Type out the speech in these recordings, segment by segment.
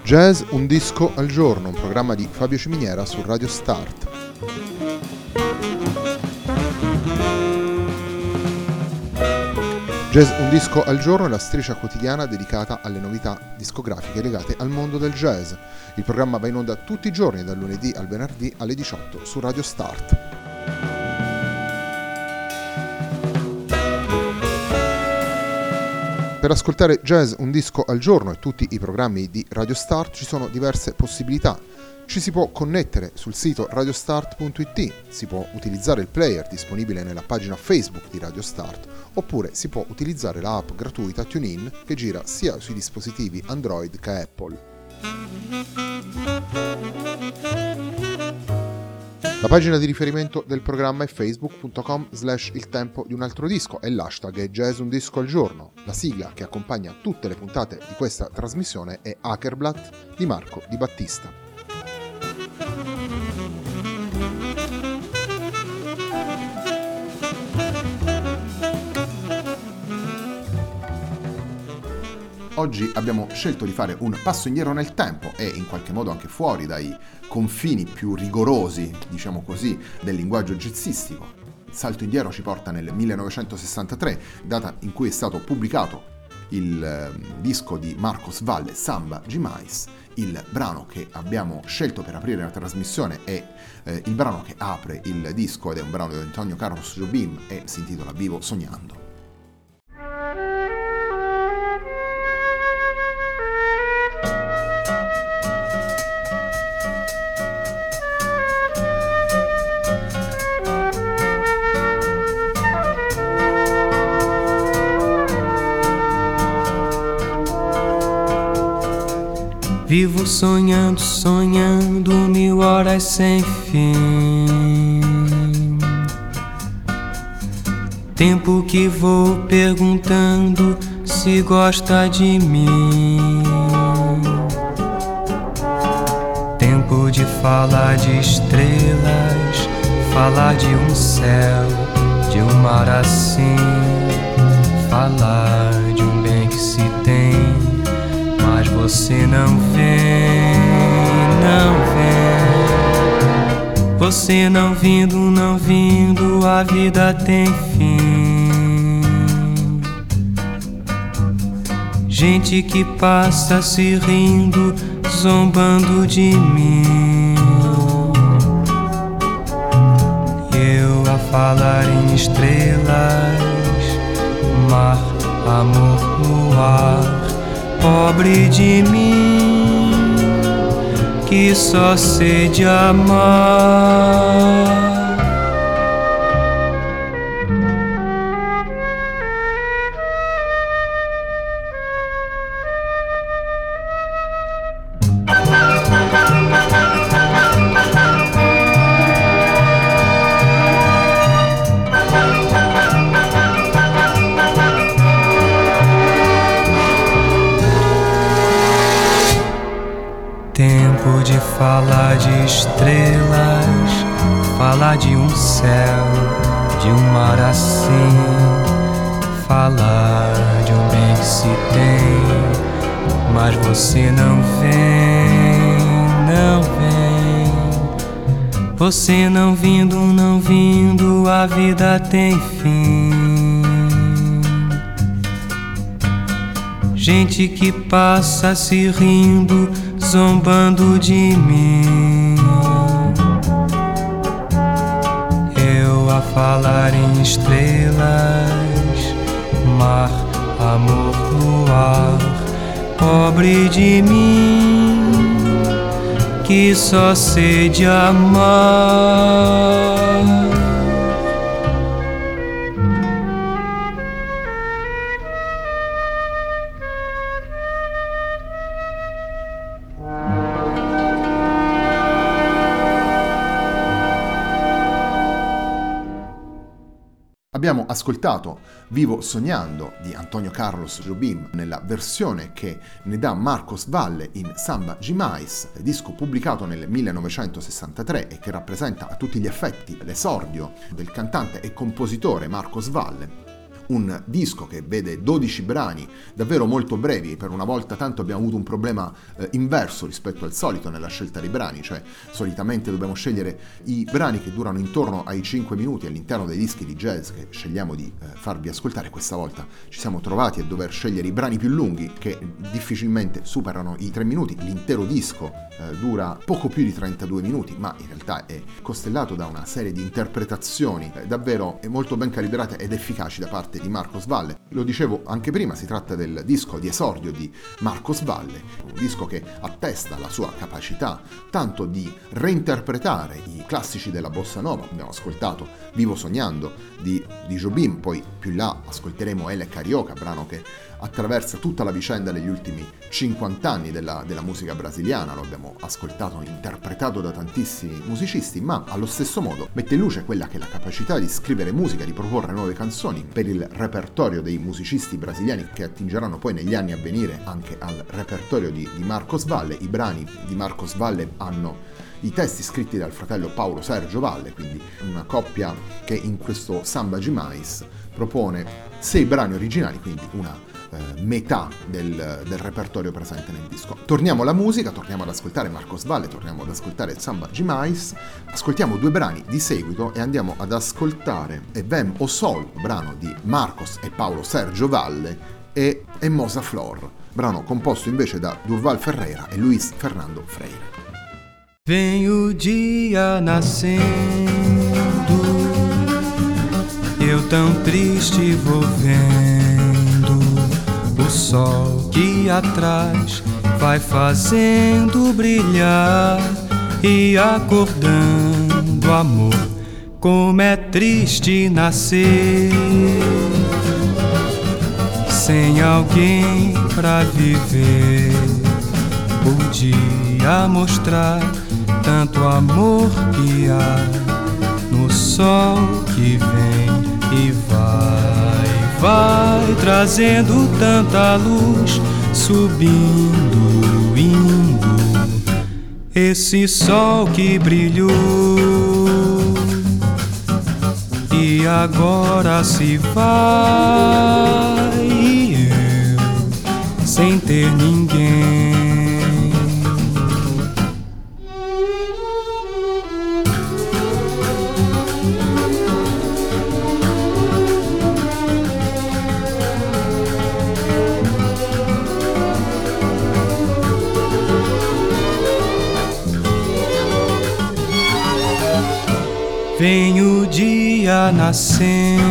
Jazz un disco al giorno, un programma di Fabio Ciminiera su Radio Start. Jazz un disco al giorno è la striscia quotidiana dedicata alle novità discografiche legate al mondo del jazz. Il programma va in onda tutti i giorni, dal lunedì al venerdì alle 18 su Radio Start. Per ascoltare Jazz un disco al giorno e tutti i programmi di Radio Start ci sono diverse possibilità. Ci si può connettere sul sito radiostart.it, si può utilizzare il player disponibile nella pagina Facebook di Radio Start, oppure si può utilizzare la app gratuita TuneIn che gira sia sui dispositivi Android che Apple. La pagina di riferimento del programma è facebook.com/il tempo di un altro disco e l'hashtag è Jazz un disco al giorno. La sigla che accompagna tutte le puntate di questa trasmissione è Hakerblatt di Marco Di Battista. Oggi abbiamo scelto di fare un passo indietro nel tempo e in qualche modo anche fuori dai confini più rigorosi, diciamo così, del linguaggio jazzistico. Il salto indietro ci porta nel 1963, data in cui è stato pubblicato il disco di Marcos Valle, Samba Gimais. Il brano che abbiamo scelto per aprire la trasmissione è il brano che apre il disco ed è un brano di Antonio Carlos Jobim e si intitola Vivo Sognando. Vivo sonhando, sonhando 1000 horas sem fim. Tempo que vou perguntando se gosta de mim. Tempo de falar de estrelas, falar de um céu, de um mar assim, falar de um bem que se tem. Mas você não vem, não vem. Você não vindo, a vida tem fim. Gente que passa se rindo, zombando de mim. Eu a falar em estrelas, mar, amor no ar. Pobre de mim, que só sei de amar. Tempo de falar de estrelas, falar de um céu, de um mar assim, falar de um bem que se tem. Mas você não vem, não vem. Você não vindo, a vida tem fim. Gente que passa se rindo, zombando de mim. Eu a falar em estrelas, mar, amor no ar. Pobre de mim, que só sei de amar. Abbiamo ascoltato Vivo Sognando di Antonio Carlos Jobim nella versione che ne dà Marcos Valle in Samba Gimais, disco pubblicato nel 1963 e che rappresenta a tutti gli effetti l'esordio del cantante e compositore Marcos Valle. un disco che vede 12 brani davvero molto brevi. Per una volta tanto abbiamo avuto un problema inverso rispetto al solito nella scelta dei brani, cioè solitamente dobbiamo scegliere i brani che durano intorno ai 5 minuti all'interno dei dischi di jazz che scegliamo di farvi ascoltare. Questa volta ci siamo trovati a dover scegliere i brani più lunghi che difficilmente superano i 3 minuti. L'intero disco dura poco più di 32 minuti, ma in realtà è costellato da una serie di interpretazioni davvero molto ben calibrate ed efficaci da parte di Marcos Valle. Lo dicevo anche prima, si tratta del disco di esordio di Marcos Valle, un disco che attesta la sua capacità tanto di reinterpretare i classici della bossa nova. Abbiamo ascoltato Vivo Sognando di Jobim, poi più là ascolteremo Elle Carioca, brano che attraversa tutta la vicenda degli ultimi 50 anni della musica brasiliana. Lo abbiamo ascoltato, interpretato da tantissimi musicisti, ma allo stesso modo mette in luce quella che è la capacità di scrivere musica, di proporre nuove canzoni per il repertorio dei musicisti brasiliani che attingeranno poi negli anni a venire anche al repertorio di Marcos Valle. I brani di Marcos Valle hanno i testi scritti dal fratello Paulo Sergio Valle, quindi una coppia che in questo Samba Demais propone 6 brani originali, quindi una metà del repertorio presente nel disco. Torniamo alla musica, torniamo ad ascoltare Marcos Valle, torniamo ad ascoltare Samba Demais, ascoltiamo 2 brani di seguito e andiamo ad ascoltare Vem o Sol, brano di Marcos e Paulo Sergio Valle, e Mosa Flor, brano composto invece da Durval Ferreira e Luis Fernando Freire. Vem o dia nascendo, eu tão triste vou vendo o sol que atrás vai fazendo brilhar e acordando amor, como é triste nascer sem alguém pra viver, o dia mostrar tanto amor que há no sol que vem e vai trazendo tanta luz, subindo, indo, esse sol que brilhou e agora se vai, e eu sem ter ninguém. Vem o dia nascendo,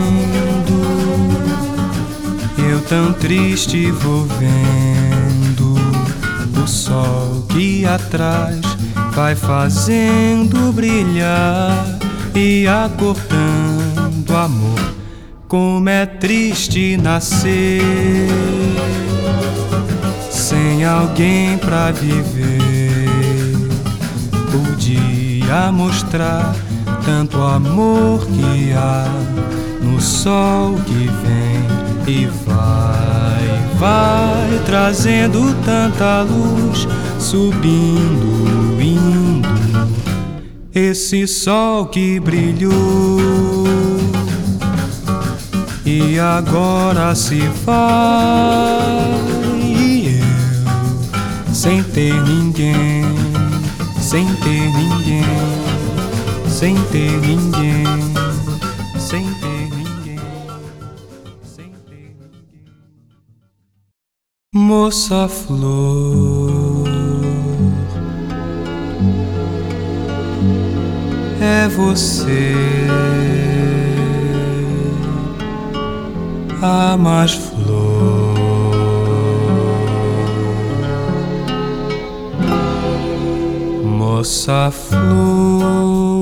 eu tão triste vou vendo o sol que atrás vai fazendo brilhar e acordando amor, como é triste nascer sem alguém pra viver, o dia mostrar tanto amor que há no sol que vem e vai trazendo tanta luz, subindo, indo, esse sol que brilhou e agora se vai, e eu sem ter ninguém, sem ter ninguém, sem ter ninguém, sem ter ninguém, sem ter ninguém. Moça flor, é você a mais flor, moça flor,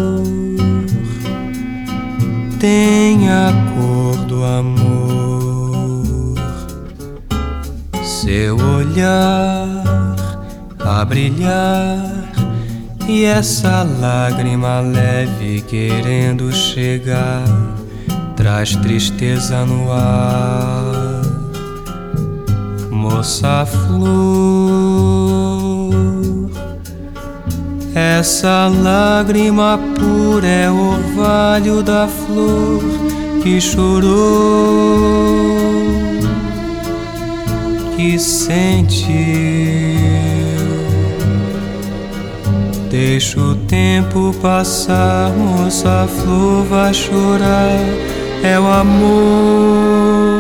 tem a cor do amor, seu olhar a brilhar e essa lágrima leve querendo chegar traz tristeza no ar, moça flor, essa lágrima pura é o orvalho da flor que chorou, que sentiu. Deixa o tempo passar, moça, a flor vai chorar, é o amor.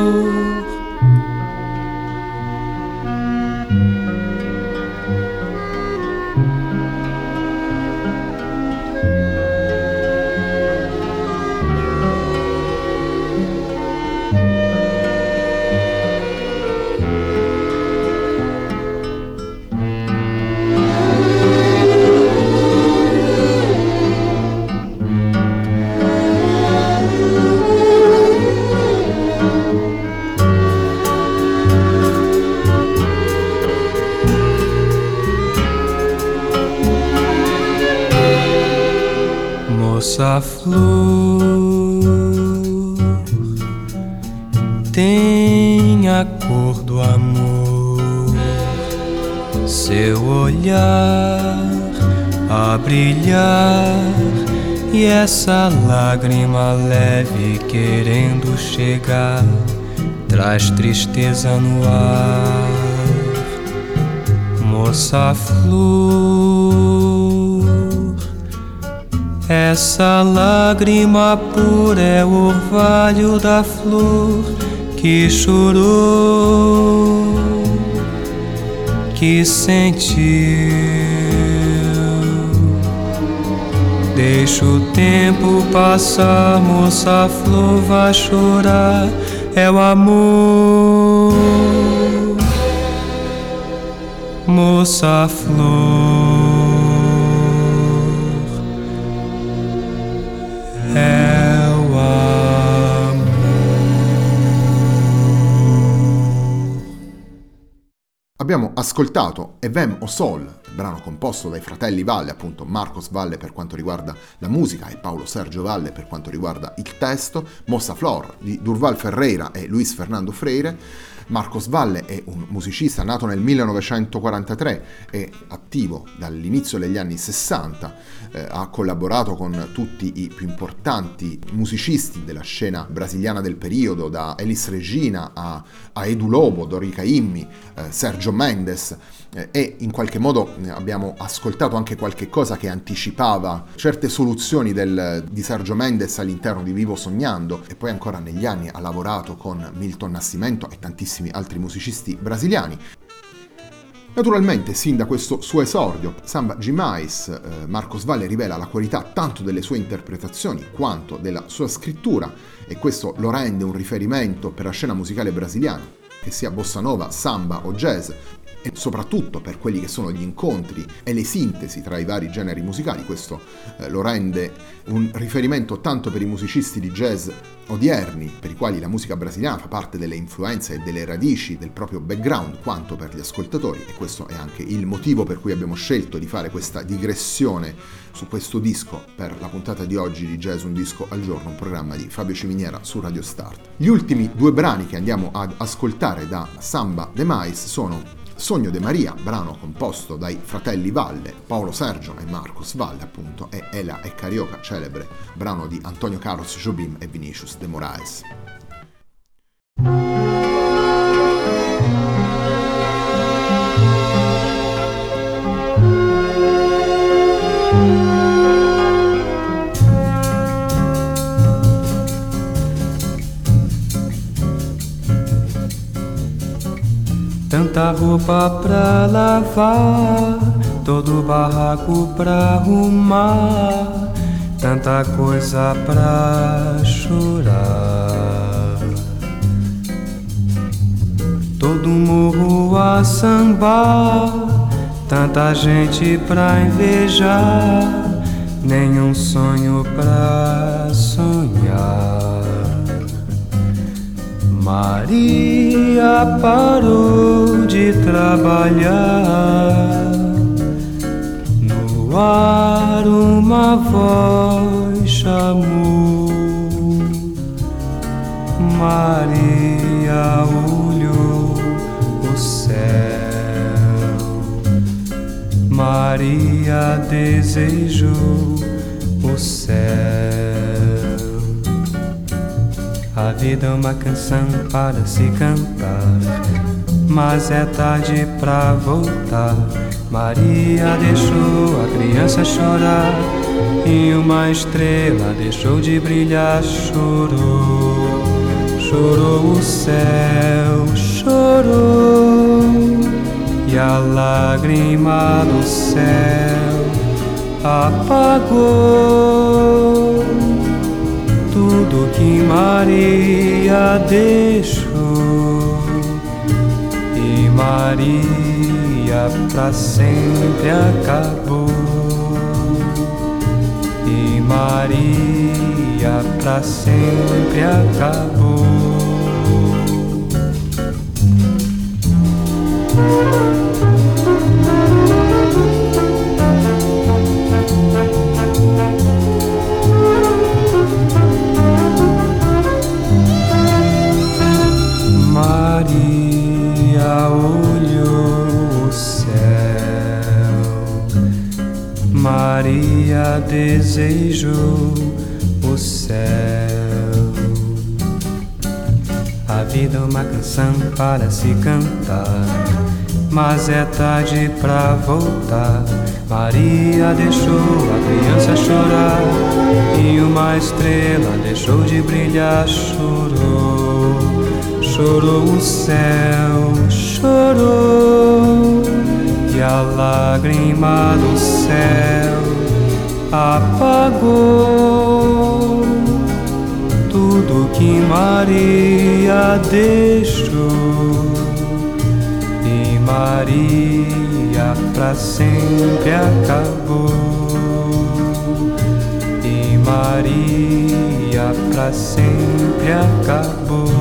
Moça flor tem a cor do amor, seu olhar a brilhar e essa lágrima leve querendo chegar traz tristeza no ar. Moça flor, essa lágrima pura é o orvalho da flor que chorou, que sentiu. Deixa o tempo passar, moça, a flor vai chorar, é o amor. Moça flor, è o amor. Abbiamo ascoltato Evem o Sol, brano composto dai fratelli Valle, appunto Marcos Valle per quanto riguarda la musica e Paulo Sergio Valle per quanto riguarda il testo, Moça Flor di Durval Ferreira e Luis Fernando Freire. Marcos Valle è un musicista nato nel 1943 e attivo dall'inizio degli anni 60, ha collaborato con tutti i più importanti musicisti della scena brasiliana del periodo, da Elis Regina a Edu Lobo, Dorica Immi, Sergio Mendes, e in qualche modo abbiamo ascoltato anche qualche cosa che anticipava certe soluzioni di Sergio Mendes all'interno di Vivo Sognando, e poi ancora negli anni ha lavorato con Milton Nascimento e tantissimi altri musicisti brasiliani. Naturalmente, sin da questo suo esordio, Samba Demais, Marcos Valle rivela la qualità tanto delle sue interpretazioni quanto della sua scrittura, e questo lo rende un riferimento per la scena musicale brasiliana, che sia bossa nova, samba o jazz, e soprattutto per quelli che sono gli incontri e le sintesi tra i vari generi musicali. Questo lo rende un riferimento tanto per i musicisti di jazz odierni, per i quali la musica brasiliana fa parte delle influenze e delle radici del proprio background, quanto per gli ascoltatori, e questo è anche il motivo per cui abbiamo scelto di fare questa digressione su questo disco per la puntata di oggi di Jazz Un Disco al Giorno, un programma di Fabio Ciminiera su Radio Start. Gli ultimi due brani che andiamo ad ascoltare da Samba Demais sono Sogno de Maria, brano composto dai fratelli Valle, Paulo Sergio e Marcos Valle appunto, e Ela e Carioca, celebre brano di Antonio Carlos Jobim e Vinicius de Moraes. Tanta roupa pra lavar, todo barraco pra arrumar, tanta coisa pra chorar. Todo morro a sambar, tanta gente pra invejar, nenhum sonho pra sonhar. Maria parou de trabalhar, no ar uma voz chamou. Maria olhou o céu, Maria desejou o céu. vida é uma canção para se cantar, mas é tarde pra voltar. Maria deixou a criança chorar e uma estrela deixou de brilhar. Chorou, chorou o céu, chorou, e a lágrima do céu apagou tudo que Maria deixou. E Maria pra sempre acabou. E Maria pra sempre acabou. Maria olhou o céu, Maria desejou o céu. A vida é uma canção para se cantar, mas é tarde pra voltar. Maria deixou a criança chorar e uma estrela deixou de brilhar. Chorou, chorou o céu, chorou, e a lágrima do céu apagou tudo que Maria deixou. E Maria pra sempre acabou. E Maria pra sempre acabou.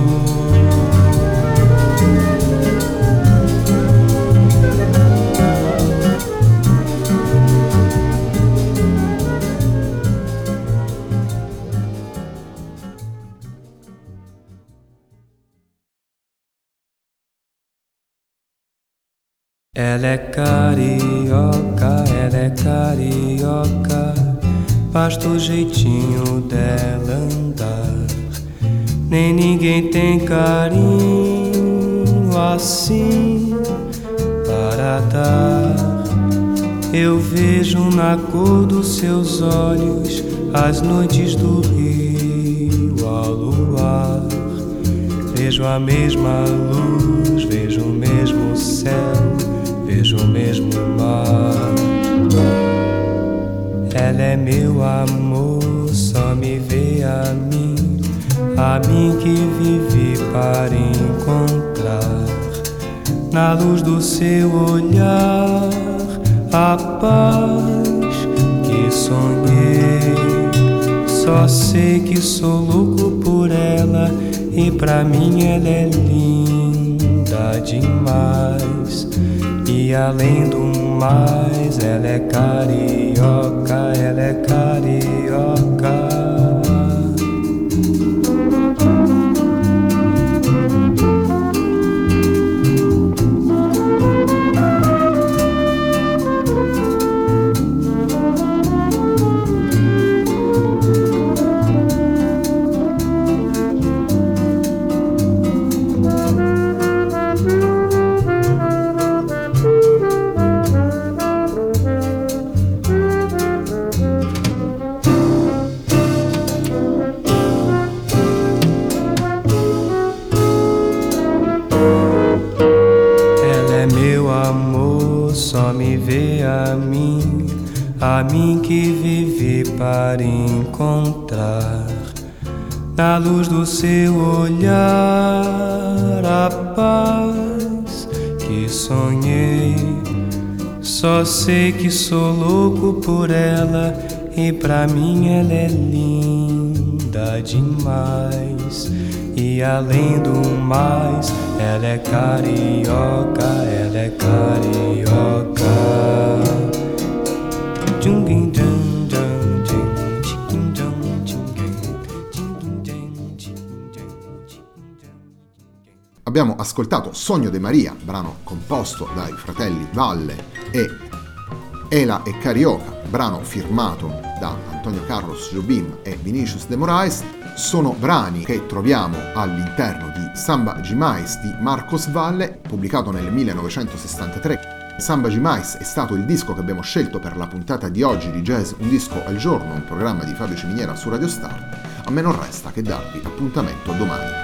Ela é carioca, ela é carioca, basta o jeitinho dela andar. Nem ninguém tem carinho assim para dar. Eu vejo na cor dos seus olhos as noites do rio ao luar. Vejo a mesma luz, vejo o mesmo céu, vejo o mesmo mar. Ela é meu amor, só me vê a mim que vivi para encontrar na luz do seu olhar a paz que sonhei. Só sei que sou louco por ela e pra mim ela é linda demais. E além do mais, ela é carioca, ela é carioca. Só me vê a mim que vivi para encontrar na luz do seu olhar a paz que sonhei. Só sei que sou louco por ela e pra mim ela é linda demais. E além do mais, ela é carioca, ela é carioca. Abbiamo ascoltato Sogno di Maria, brano composto dai fratelli Valle e Ela e Carioca, brano firmato da Antonio Carlos Jobim e Vinicius de Moraes, sono brani che troviamo all'interno di Samba Demais di Marcos Valle, pubblicato nel 1963. Samba Demais è stato il disco che abbiamo scelto per la puntata di oggi di Jazz Un Disco al Giorno, un programma di Fabio Ciminiera su Radio Start. A me non resta che darvi appuntamento domani.